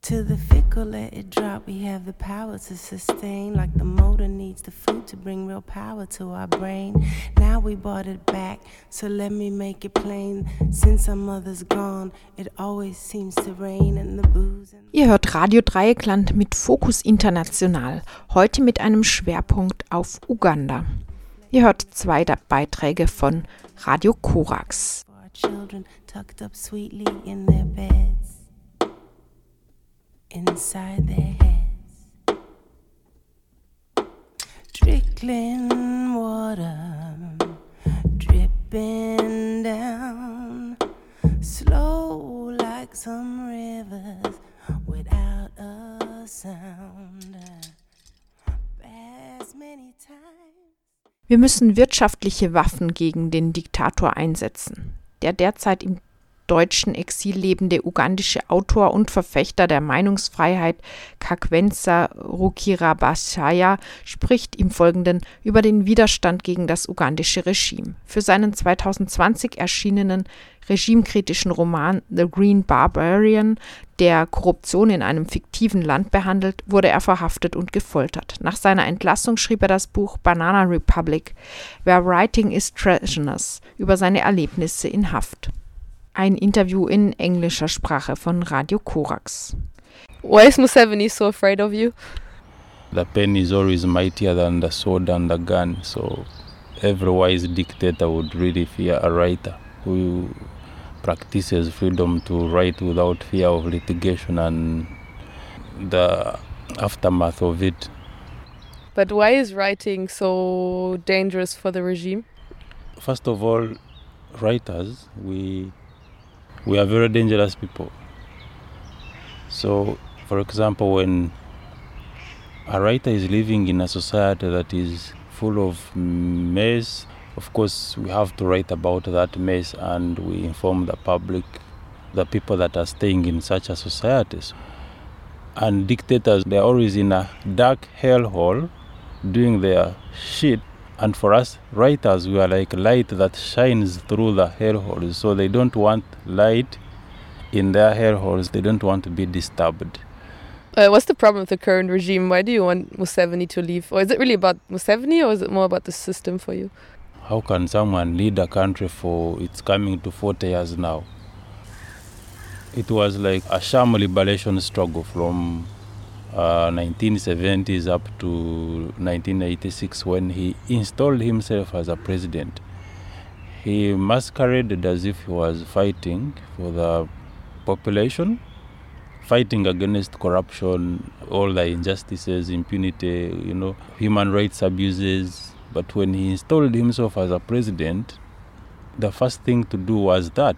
To the fickle, let it drop. We have the power to sustain, like the motor needs the food to bring real power to our brain. Now we bought it back, so let me make it plain. Since our mother's gone, it always seems to rain and the booze. Ihr hört Radio Dreieckland mit Fokus International, heute mit einem Schwerpunkt auf Uganda. Ihr hört 2 Beiträge von Radio Korax. Our children tucked up sweetly in their beds. Inside their heads, trickling water, dripping down, slow like some rivers without a sound. As many times. Wir müssen wirtschaftliche Waffen gegen den Diktator einsetzen. Der derzeit im deutschen Exil lebende ugandische Autor und Verfechter der Meinungsfreiheit Kakwenza Rukirabashaya spricht im Folgenden über den Widerstand gegen das ugandische Regime. Für seinen 2020 erschienenen regimekritischen Roman The Green Barbarian, der Korruption in einem fiktiven Land behandelt, wurde er verhaftet und gefoltert. Nach seiner Entlassung schrieb er das Buch Banana Republic, Where Writing is Treasonous, über seine Erlebnisse in Haft. Ein Interview in englischer Sprache von Radio Korax. Why is Museveni so afraid of you? The pen is always mightier than the sword and the gun, so every wise dictator would really fear a writer who practices freedom to write without fear of litigation and the aftermath of it. But why is writing so dangerous for the regime? First of all, writers, we are very dangerous people. So, for example, when a writer is living in a society that is full of mess, of course we have to write about that mess and we inform the public, the people that are staying in such a society. And dictators, they're always in a dark hellhole doing their shit. And for us writers, we are like light that shines through the hellholes. So they don't want light in their hellholes. They don't want to be disturbed. What's the problem with the current regime? Why do you want Museveni to leave? Or is it really about Museveni, or is it more about the system for you? How can someone lead a country for it's coming to 40 years now? It was like a sham liberation struggle from 1970s up to 1986 when he installed himself as a president. He masqueraded as if he was fighting for the population, fighting against corruption, all the injustices, impunity, human rights abuses. But when he installed himself as a president, the first thing to do was that.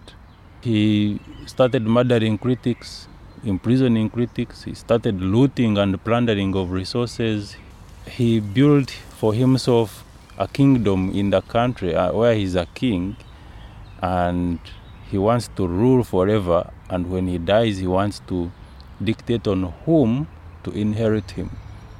He started murdering critics, imprisoning critics. He started looting and plundering of resources. He built for himself a kingdom in the country where he's a king, and he wants to rule forever, and when he dies he wants to dictate on whom to inherit him.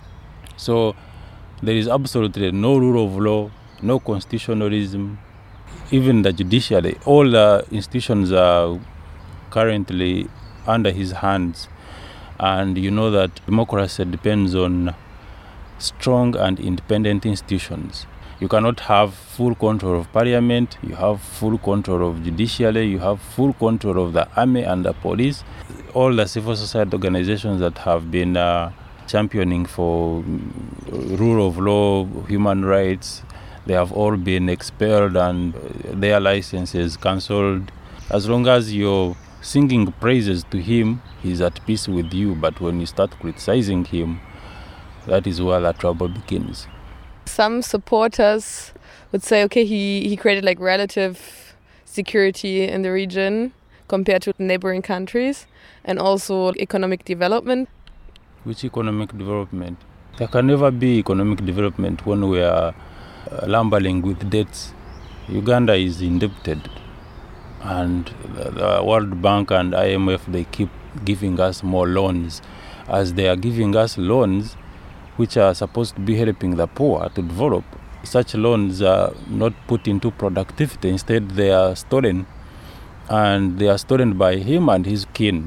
So there is absolutely no rule of law, no constitutionalism. Even the judiciary, all the institutions are currently under his hands, and you know that democracy depends on strong and independent institutions. You cannot have full control of parliament, you have full control of judiciary, you have full control of the army and the police. All the civil society organizations that have been championing for rule of law, human rights, they have all been expelled and their licenses cancelled. As long as you're singing praises to him, he's at peace with you. But when you start criticizing him, that is where the trouble begins. Some supporters would say, okay, he created like relative security in the region compared to neighboring countries, and also economic development. Which economic development? There can never be economic development when we are lumbering with debts. Uganda is indebted, and the World Bank and IMF, they keep giving us more loans. As they are giving us loans which are supposed to be helping the poor to develop, such loans are not put into productivity. Instead, they are stolen, and they are stolen by him and his kin.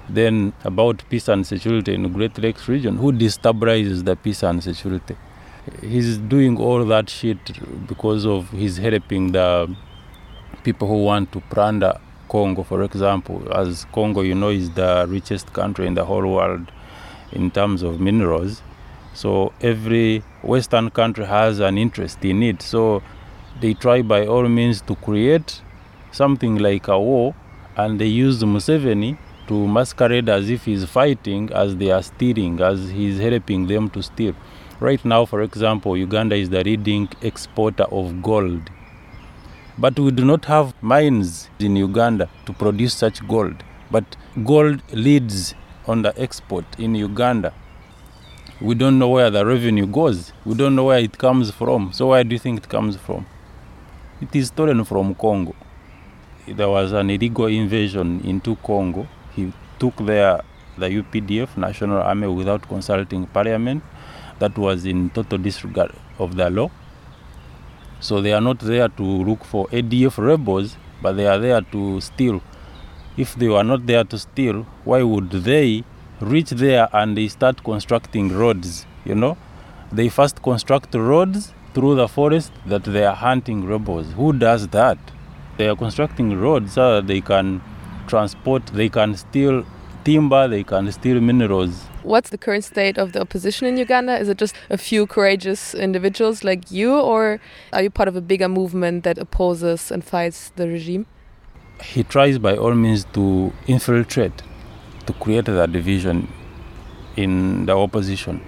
Then about peace and security in the Great Lakes region, who destabilizes the peace and security? He's doing all that shit because of he's helping the people who want to plunder Congo, for example. As Congo, is the richest country in the whole world in terms of minerals. So every Western country has an interest in it. So they try by all means to create something like a war, and they use Museveni to masquerade as if he's fighting, as they are stealing, as he's helping them to steal. Right now, for example, Uganda is the leading exporter of gold. But we do not have mines in Uganda to produce such gold. But gold leads on the export in Uganda. We don't know where the revenue goes. We don't know where it comes from. So where do you think it comes from? It is stolen from Congo. There was an illegal invasion into Congo. He took the UPDF, National Army, without consulting Parliament. That was in total disregard of the law. So they are not there to look for ADF rebels, but they are there to steal. If they were not there to steal, why would they reach there and they start constructing roads? They first construct roads through the forest that they are hunting rebels. Who does that? They are constructing roads so that they can transport, they can steal timber, they can steal minerals. What's the current state of the opposition in Uganda? Is it just a few courageous individuals like you, or are you part of a bigger movement that opposes and fights the regime? He tries by all means to infiltrate, to create that division in the opposition.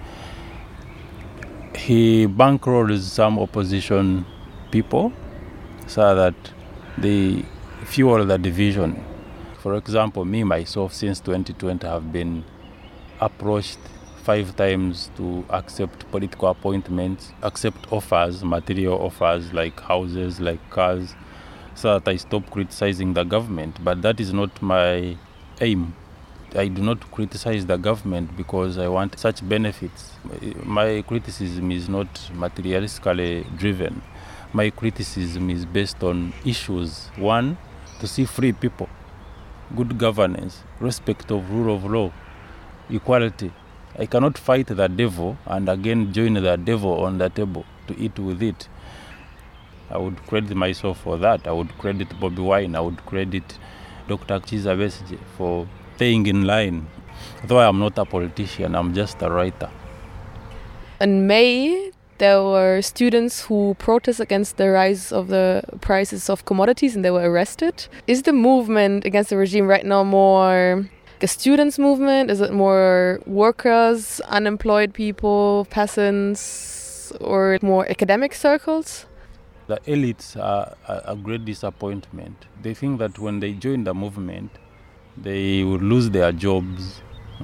He bankrolls some opposition people so that they fuel the division. For example, me, myself, since 2020 have been approached 5 times to accept political appointments, accept offers, material offers like houses, like cars, so that I stop criticizing the government. But that is not my aim. I do not criticize the government because I want such benefits. My criticism is not materialistically driven. My criticism is based on issues. One, to see free people, good governance, respect of rule of law, equality. I cannot fight the devil and again join the devil on the table to eat with it. I would credit myself for that. I would credit Bobi Wine. I would credit Dr. Kizza Besigye for staying in line. Though I am not a politician, I'm just a writer. In May, there were students who protest against the rise of the prices of commodities and they were arrested. Is the movement against the regime right now more a students' movement? Is it more workers, unemployed people, peasants, or more academic circles? The elites are a great disappointment. They think that when they join the movement, they will lose their jobs.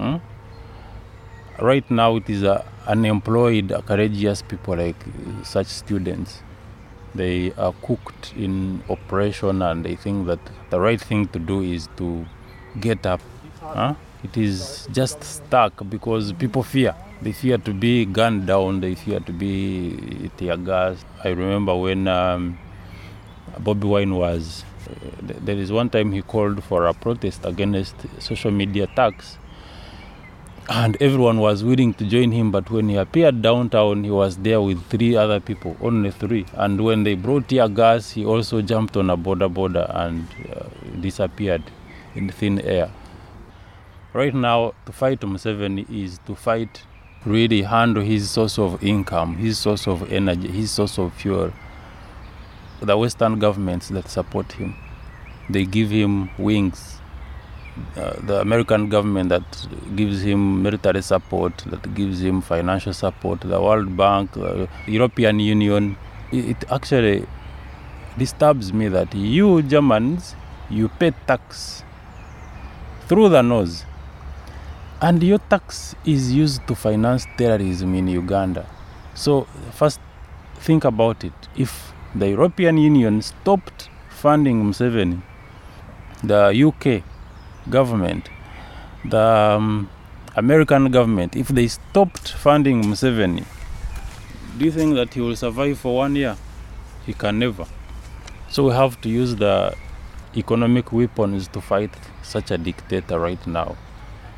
Right now, it is unemployed, courageous people like such students. They are cooked in oppression and they think that the right thing to do is to get up. It is just stuck because people fear. They fear to be gunned down. They fear to be tear gassed. I remember when Bobi Wine was... there is one time he called for a protest against social media tax. And everyone was willing to join him, but when he appeared downtown, he was there with 3 other people, only 3. And when they brought tear gas, he also jumped on a border and disappeared in thin air. Right now, to fight Museveni is to fight, really handle his source of income, his source of energy, his source of fuel. The Western governments that support him, they give him wings. The American government that gives him military support, that gives him financial support, the World Bank, the European Union. It actually disturbs me that you Germans, you pay tax through the nose. And your tax is used to finance terrorism in Uganda. So first think about it. If the European Union stopped funding Museveni, the UK government, the American government, if they stopped funding Museveni, do you think that he will survive for 1 year? He can never. So we have to use the economic weapons to fight such a dictator right now.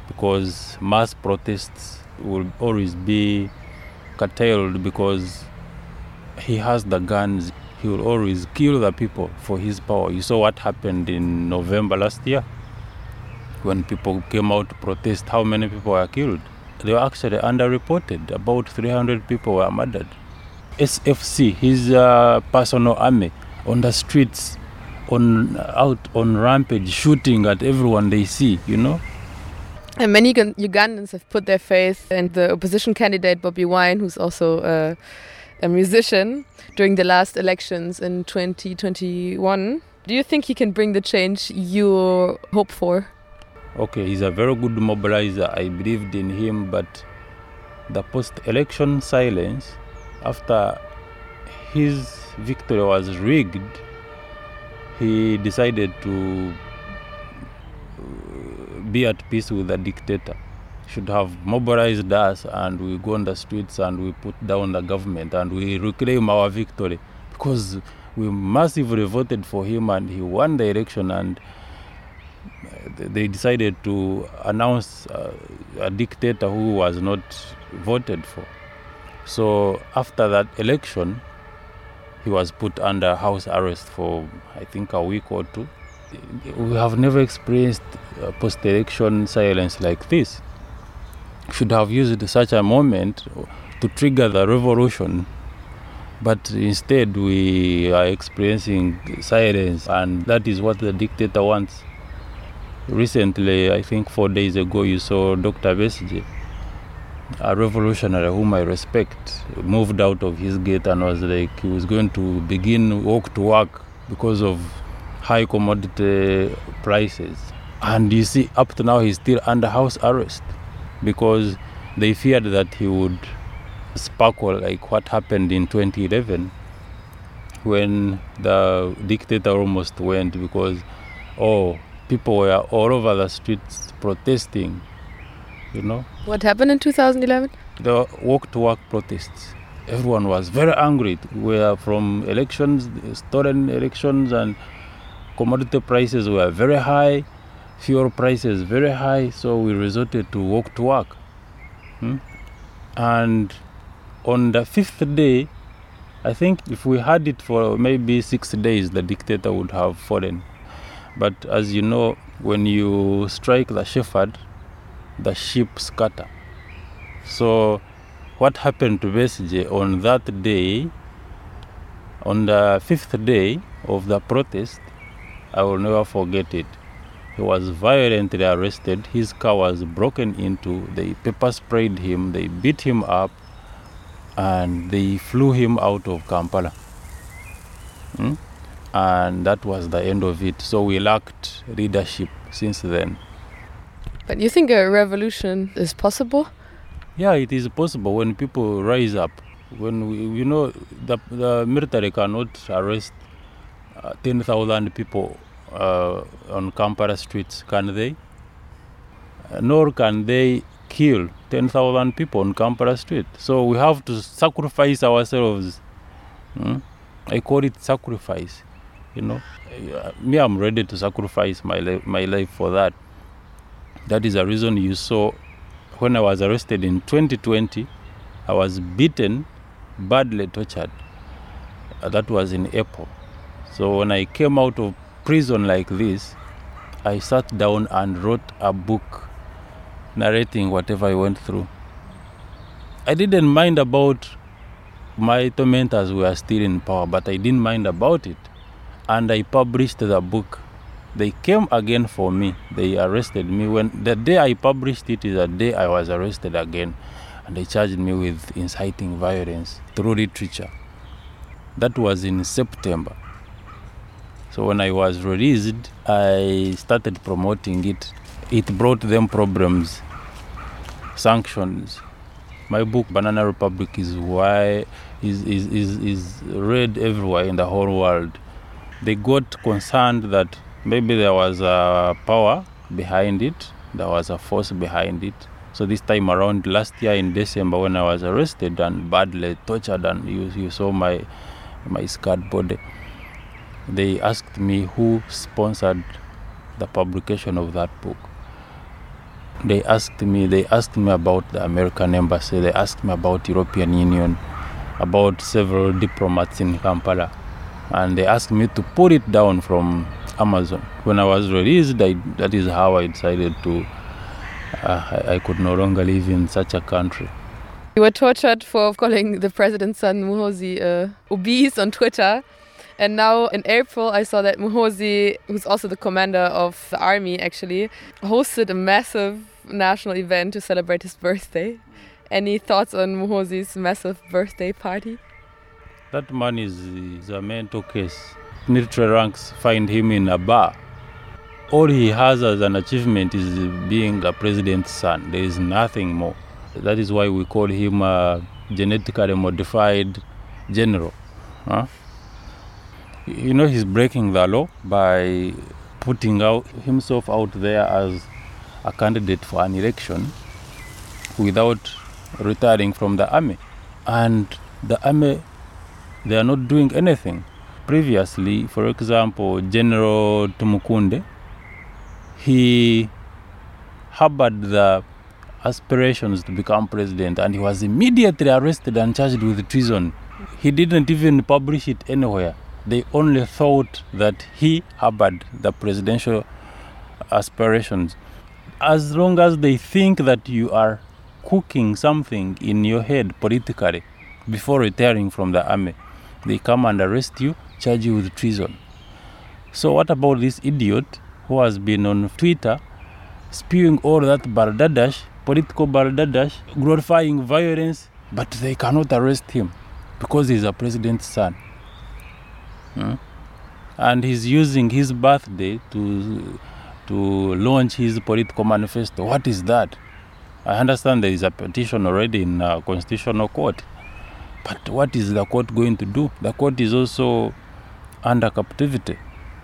because mass protests will always be curtailed because he has the guns. He will always kill the people for his power. You saw what happened in November last year when people came out to protest. How many people were killed? They were actually underreported. About 300 people were murdered. SFC, his personal army, on the streets, out on rampage, shooting at everyone they see, you know. And many Ugandans have put their faith in the opposition candidate Bobi Wine, who's also a musician, during the last elections in 2021. Do you think he can bring the change you hope for? Okay, he's a very good mobilizer. I believed in him, but the post-election silence after his victory was rigged, he decided to be at peace with the dictator. Should have mobilized us, and we go on the streets and we put down the government and we reclaim our victory, because we massively voted for him and he won the election, and they decided to announce a dictator who was not voted for. So after that election, he was put under house arrest for, I think, a week or two. We have never experienced post-election silence like this. Should have used such a moment to trigger the revolution, but instead we are experiencing silence, and that is what the dictator wants. Recently, I think 4 days ago, you saw Dr. Besigye, a revolutionary whom I respect, moved out of his gate and was like he was going to begin walk to work because of high commodity prices. And you see, up to now, he's still under house arrest because they feared that he would sparkle like what happened in 2011 when the dictator almost went, because people were all over the streets protesting, you know. What happened in 2011? The walk-to-work protests. Everyone was very angry. We were from elections, stolen elections, and commodity prices were very high, fuel prices very high, so we resorted to walk-to-work. And on the 5th day, I think if we had it for maybe 6 days, the dictator would have fallen. But as you know, when you strike the shepherd, the sheep scatter. So what happened to Besigye on that day, on the 5th day of the protest, I will never forget it. He was violently arrested. His car was broken into. They pepper sprayed him. They beat him up, and they flew him out of Kampala. And that was the end of it. So we lacked leadership since then. But you think a revolution is possible? Yeah, it is possible when people rise up. When the military cannot arrest 10,000 people on Kampala streets, can they? Nor can they kill 10,000 people on Kampala street. So we have to sacrifice ourselves. I call it sacrifice. You know, me, I'm ready to sacrifice my life for that. That is the reason you saw when I was arrested in 2020, I was beaten, badly tortured. That was in April. So when I came out of prison like this, I sat down and wrote a book narrating whatever I went through. I didn't mind about my tormentors were still in power, but I didn't mind about it. And I published the book. They came again for me. They arrested me. When the day I published it is the day I was arrested again. And they charged me with inciting violence through literature. That was in September. So when I was released, I started promoting it. It brought them problems, sanctions. My book, Banana Republic, is read everywhere in the whole world. They got concerned that maybe there was a power behind it, there was a force behind it. So this time around, last year in December, when I was arrested and badly tortured, and you saw my scarred body, they asked me who sponsored the publication of that book. They asked me about the American embassy, they asked me about European Union, about several diplomats in Kampala, and they asked me to put it down from Amazon. When I was released, that is how I decided I could no longer live in such a country. You were tortured for calling the president's son Muhoozi obese on Twitter. And now in April, I saw that Muhoozi, who's also the commander of the army actually, hosted a massive national event to celebrate his birthday. Any thoughts on Muhoozi's massive birthday party? That man is a mental case. Military ranks find him in a bar. All he has as an achievement is being a president's son. There is nothing more. That is why we call him a genetically modified general. Huh? You know, he's breaking the law by putting himself out there as a candidate for an election without retiring from the army. And the army, they are not doing anything. Previously, for example, General Tumukunde, he harbored the aspirations to become president, and he was immediately arrested and charged with treason. He didn't even publish it anywhere. They only thought that he harbored the presidential aspirations. As long as they think that you are cooking something in your head politically before retiring from the army, they come and arrest you, charge you with treason. So what about this idiot who has been on Twitter spewing all that balderdash, political balderdash, glorifying violence, but they cannot arrest him because he's a president's son? And he's using his birthday to launch his political manifesto. What is that? I understand there is a petition already in Constitutional Court. But what is the court going to do? The court is also under captivity.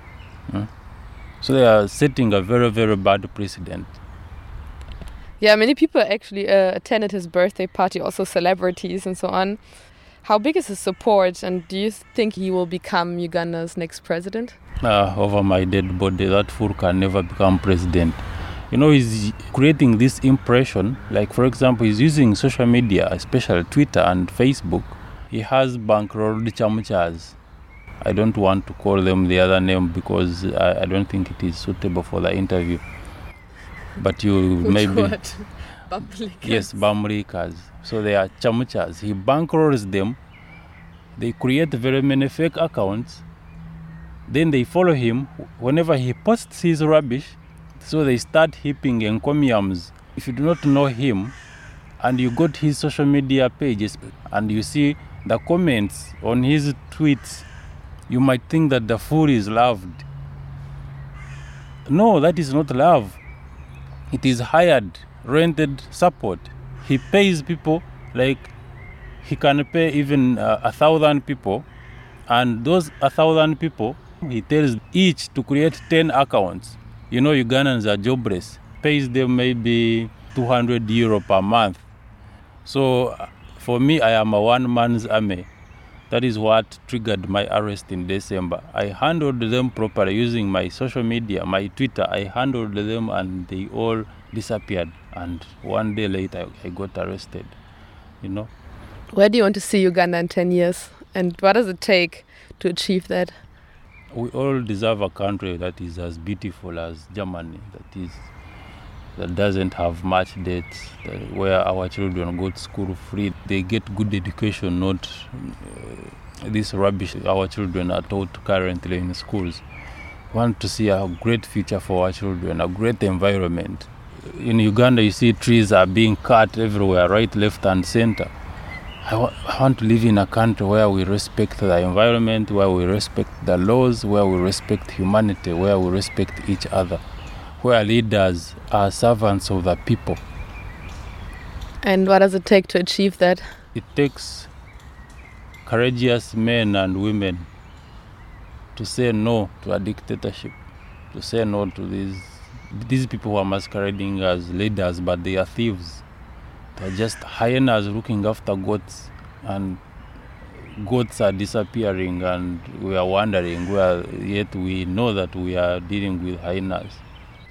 So they are setting a very, very bad precedent. Yeah, many people actually attended his birthday party, also celebrities and so on. How big is his support, and do you think he will become Uganda's next president? Over my dead body, that fool can never become president. You know, he's creating this impression, like for example, he's using social media, especially Twitter and Facebook. He has bankrolled chamuchas. I don't want to call them the other name because I don't think it is suitable for the interview. But you maybe... What? Bamlikas. Yes, Bamlikas. So they are chamuchas. He bankrolls them. They create very many fake accounts. Then they follow him whenever he posts his rubbish. So they start heaping encomiums. If you do not know him and you go to his social media pages and you see the comments on his tweets, you might think that the fool is loved. No, that is not love. It is hired, rented support. He pays people, like he can pay even 1,000 people, and those 1,000 people, he tells each to create 10 accounts. You know, Ugandans are jobless. Pays them maybe €200 per month. So for me, I am a one-man's army. That is what triggered my arrest in December. I handled them properly using my social media, my Twitter. I handled them and they all disappeared. And one day later, I got arrested, you know. Where do you want to see Uganda in 10 years? And what does it take to achieve that? We all deserve a country that is as beautiful as Germany, that doesn't have much debt, where our children go to school free. They get good education, not this rubbish our children are taught currently in schools. We want to see a great future for our children, a great environment. In Uganda, you see trees are being cut everywhere, right, left, and center. I want to live in a country where we respect the environment, where we respect the laws, where we respect humanity, where we respect each other, where leaders are servants of the people. And what does it take to achieve that? It takes courageous men and women to say no to a dictatorship, to say no to these people who are masquerading as leaders, but they are thieves. They're just hyenas looking after goats, and goats are disappearing, and we are wondering where, yet we know that we are dealing with hyenas.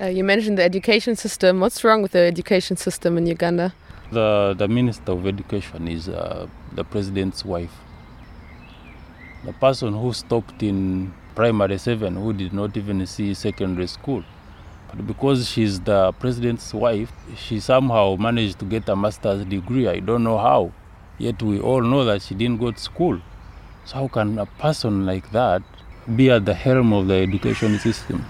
You mentioned the education system. What's wrong with the education system in Uganda? The Minister of Education is the president's wife. The person who stopped in primary 7, who did not even see secondary school. But because she's the president's wife, she somehow managed to get a master's degree. I don't know how. Yet we all know that she didn't go to school. So how can a person like that be at the helm of the education system?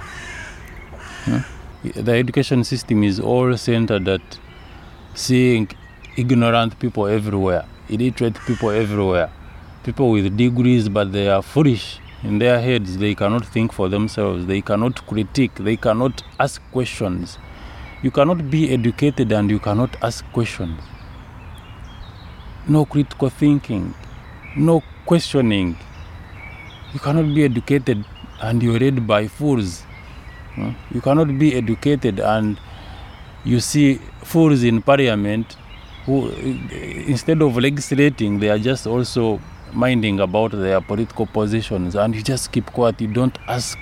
The education system is all centered at seeing ignorant people everywhere, illiterate people everywhere, people with degrees, but they are foolish in their heads. They cannot think for themselves. They cannot critique. They cannot ask questions. You cannot be educated and you cannot ask questions. No critical thinking, no questioning. You cannot be educated and you're led by fools. You cannot be educated and you see fools in parliament who, instead of legislating, they are just also minding about their political positions, and you just keep quiet, you don't ask.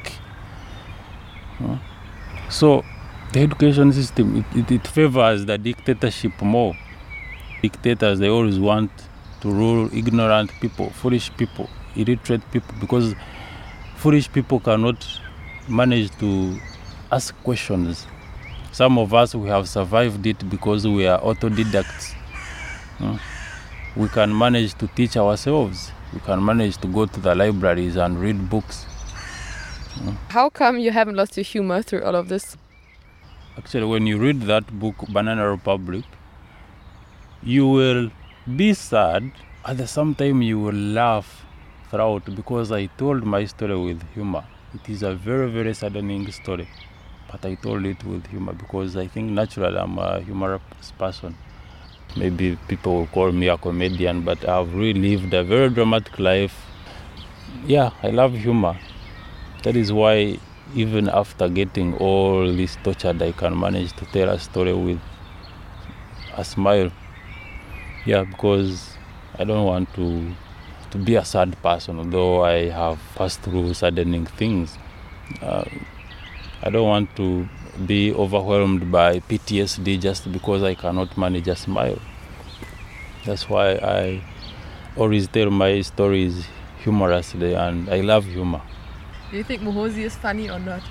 So the education system, it favors the dictatorship more. Dictators, they always want to rule ignorant people, foolish people, illiterate people, because foolish people cannot manage to ask questions. Some of us, we have survived it because we are autodidacts. We can manage to teach ourselves. We can manage to go to the libraries and read books. How come you haven't lost your humor through all of this? Actually, when you read that book, Banana Republic, you will be sad. At the same time, you will laugh throughout, because I told my story with humor. It is a very, very saddening story, but I told it with humor because I think naturally I'm a humorous person. Maybe people will call me a comedian, but I've really lived a very dramatic life. Yeah, I love humor. That is why even after getting all this tortured, I can manage to tell a story with a smile. Yeah, because I don't want to be a sad person, although I have passed through saddening things. I don't want to be overwhelmed by PTSD just because I cannot manage a smile. That's why I always tell my stories humorously, and I love humor. Do you think Muhoozi is funny or not?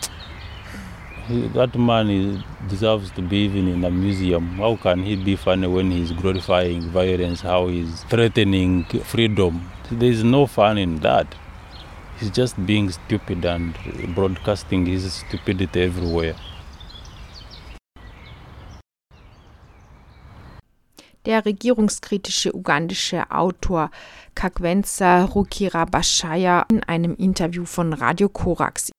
That man deserves to be even in a museum. How can he be funny when he's glorifying violence, how he's threatening freedom? There is no fun in that. He's just being stupid and broadcasting his stupidity everywhere. Der regierungskritische ugandische Autor Kakwenza Rukirabashaya in einem Interview von Radio Korax.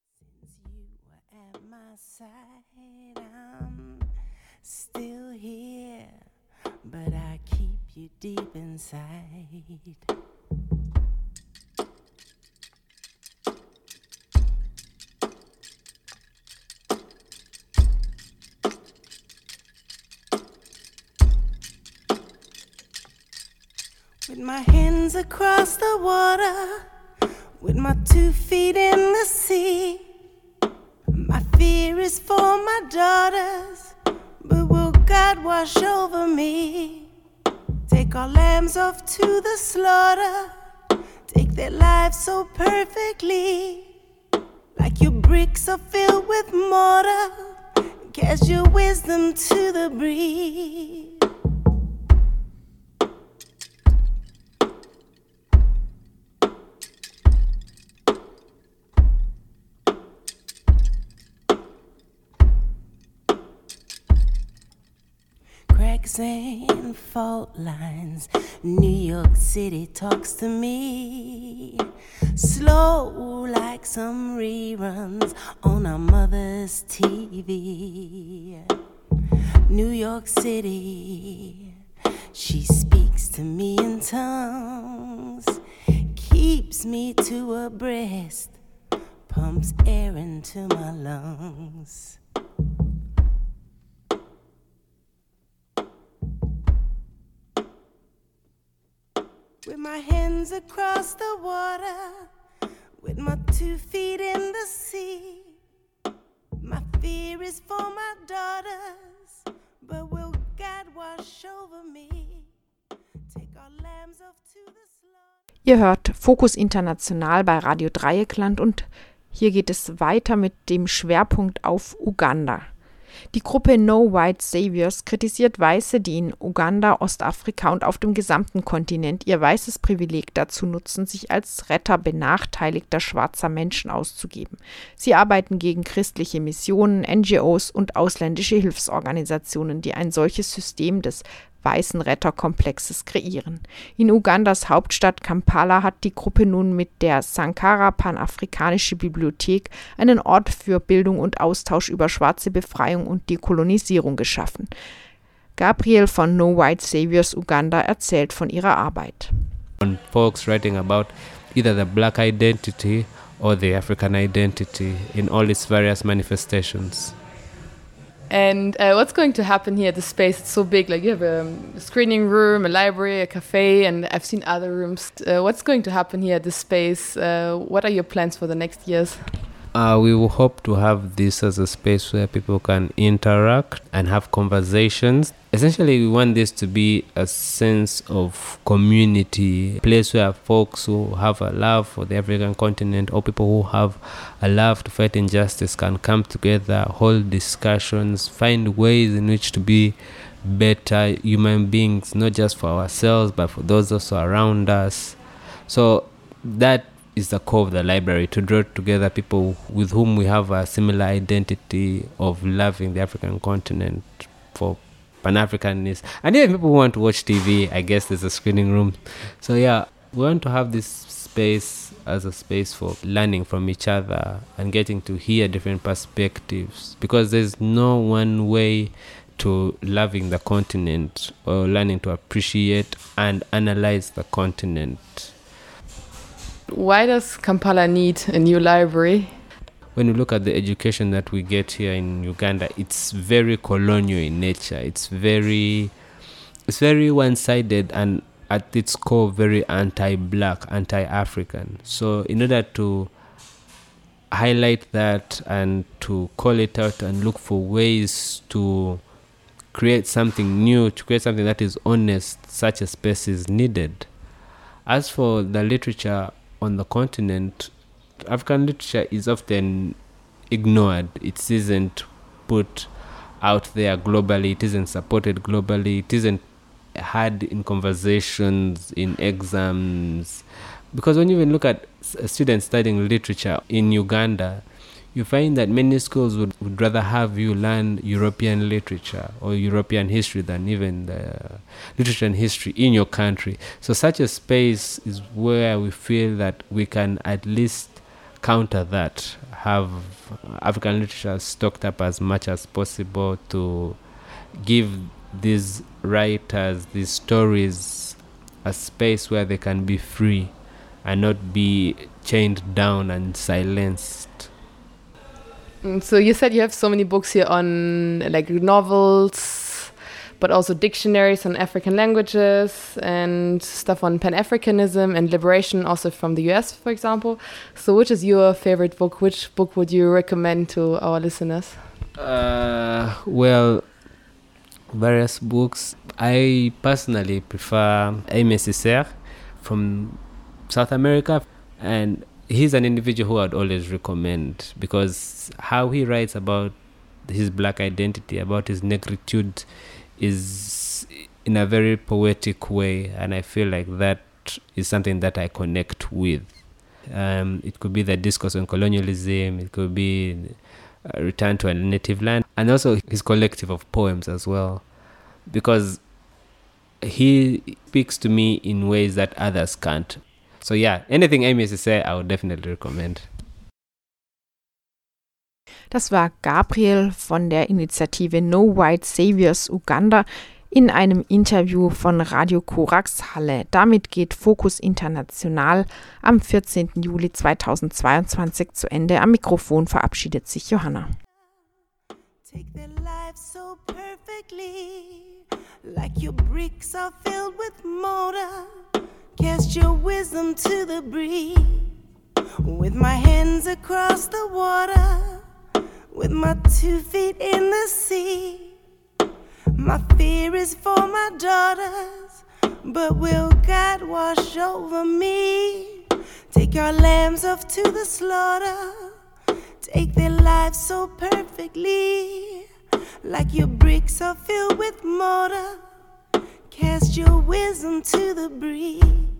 Still here, but I keep you deep inside. With my hands across the water, with my 2 feet in the sea, my fear is for my daughters, but will God wash over me? Take our lambs off to the slaughter, take their lives so perfectly, like your bricks are filled with mortar, cast your wisdom to the breeze. Cracks and fault lines, New York City talks to me, slow like some reruns on our mother's TV. New York City, she speaks to me in tongues, keeps me to her breast, pumps air into my lungs. With my hands across the water, with my 2 feet in the sea, my feet fear is for my daughters, but will God wash over me? Take our lambs off to the slaughter. Ihr hört Fokus International bei Radio Dreieckland und hier geht es weiter mit dem Schwerpunkt auf Uganda. Die Gruppe No White Saviors kritisiert Weiße, die in Uganda, Ostafrika und auf dem gesamten Kontinent ihr weißes Privileg dazu nutzen, sich als Retter benachteiligter schwarzer Menschen auszugeben. Sie arbeiten gegen christliche Missionen, NGOs und ausländische Hilfsorganisationen, die ein solches System des weißen Retterkomplexes kreieren. In Ugandas Hauptstadt Kampala hat die Gruppe nun mit der Sankara Panafrikanische Bibliothek einen Ort für Bildung und Austausch über schwarze Befreiung und Dekolonisierung geschaffen. Gabriel von No White Saviors Uganda erzählt von ihrer Arbeit. On folks writing about either the black identity or the African identity in all its various manifestations. And what's going to happen here at the space? It's so big. Like you have a screening room, a library, a cafe, and I've seen other rooms. What's going to happen here at this space? What are your plans for the next years? We will hope to have this as a space where people can interact and have conversations. Essentially, we want this to be a sense of community, a place where folks who have a love for the African continent or people who have a love to fight injustice can come together, hold discussions, find ways in which to be better human beings, not just for ourselves, but for those also around us. So that is the core of the library, to draw together people with whom we have a similar identity of loving the African continent for Pan-Africanness. And even people who want to watch TV, I guess there's a screening room. So yeah, we want to have this space as a space for learning from each other and getting to hear different perspectives, because there's no one way to loving the continent or learning to appreciate and analyze the continent. Why does Kampala need a new library? When you look at the education that we get here in Uganda, it's very colonial in nature. It's very one-sided and at its core very anti-black, anti-African. So in order to highlight that and to call it out and look for ways to create something new, to create something that is honest, such a space is needed. As for the literature on the continent, African literature is often ignored. It isn't put out there globally. It isn't supported globally. It isn't had in conversations, in exams. Because when you even look at students studying literature in Uganda, you find that many schools would rather have you learn European literature or European history than even the literature and history in your country. So such a space is where we feel that we can at least counter that, have African literature stocked up as much as possible to give these writers, these stories, a space where they can be free and not be chained down and silenced. So you said you have so many books here on like novels, but also dictionaries on African languages and stuff on Pan-Africanism and liberation, also from the US, for example. So which is your favorite book? Which book would you recommend to our listeners? Well, various books. I personally prefer Aimé Césaire from South America, and he's an individual who I'd always recommend because how he writes about his black identity, about his negritude, is in a very poetic way, and I feel like that is something that I connect with. It could be the discourse on colonialism, it could be a return to a native land, and also his collective of poems as well, because he speaks to me in ways that others can't. So yeah, anything Aimé Césaire, I would definitely recommend. Das war Gabriel von der Initiative No White Saviors Uganda in einem Interview von Radio Korax Halle. Damit geht Fokus International am 14. Juli 2022 zu Ende. Am Mikrofon verabschiedet sich Johanna. Take their lives so perfectly, like your bricks are filled with mortar. Cast your wisdom to the breeze, with my hands across the water, with my 2 feet in the sea. My fear is for my daughters, but will God wash over me? Take our lambs off to the slaughter, take their lives so perfectly, like your bricks are filled with mortar. Cast your wisdom to the breeze.